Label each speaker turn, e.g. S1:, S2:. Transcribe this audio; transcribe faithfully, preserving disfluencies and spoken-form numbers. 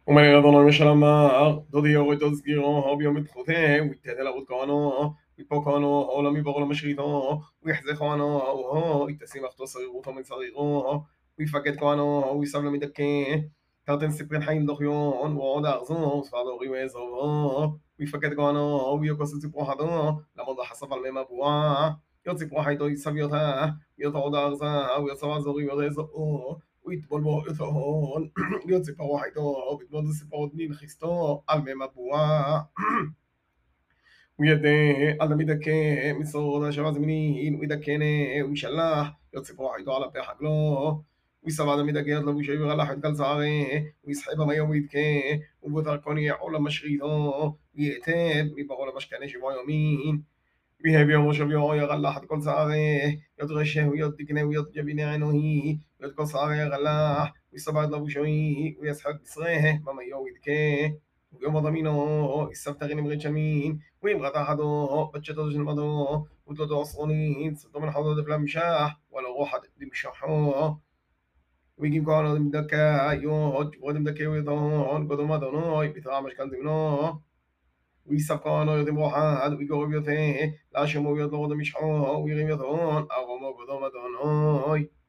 S1: ومن Adonai Meshalamar, Dodio Tozgiro, Hobio Mitchote, we tell out Gano, we Pocano, Olami Borola Mashito, we Hezekano, oh, it seems to say Rutom and Sariro, we forget Gano, we Salam the King, Tartan Siprenheim Dohion, Wada Zon, Father Rimezo, we forget Gano, we Okosu Pohado, Lamoda Hasafal Memabua, Yotsipohito Saviota, Yotoda Arza, we saw Zori, ויטבול בו את ההון, להיות ציפרו חייתו, ויטבול ציפרות נלחיסתו, על מי מבואה. וידע על המדכא, מסוד השבע זמנין, וידכנה, וישלח, להיות ציפרו חייתו על הפה חגלו. ויסבד המדכא, לבוש העבר על החד כל צערי, ויסחב המיום וידכא, ובותר קוני עולם משריתו, ויתב מברו למשכנה שבוע יומין. ויהב יום ראשו ויום ירלח את כל שערי, יות רשהו, יות תקנהו, יות ג'ביני ענוהי, יות כל שערי ירלח, ויסבד לבושוי, ויסחק בשרה, במיו ידכה, ויום הדמינו, יסבתרין אמרית שמין, ואמרת אחדו, בצ'תו של מדו, ותלותו עשרונית, סרטו מן חדו דפלה משח, ולא רוחת דמשחו, ויקים כהנו דמדכא, יות, ודמדכא ויתון, קודום אדונוי, בתרע משכן זמנו, ויספקנו יודעים רוחד, ויגורב יותה, להשמו יודו משחו, וירים יתון, ארומו קודום אדונוי.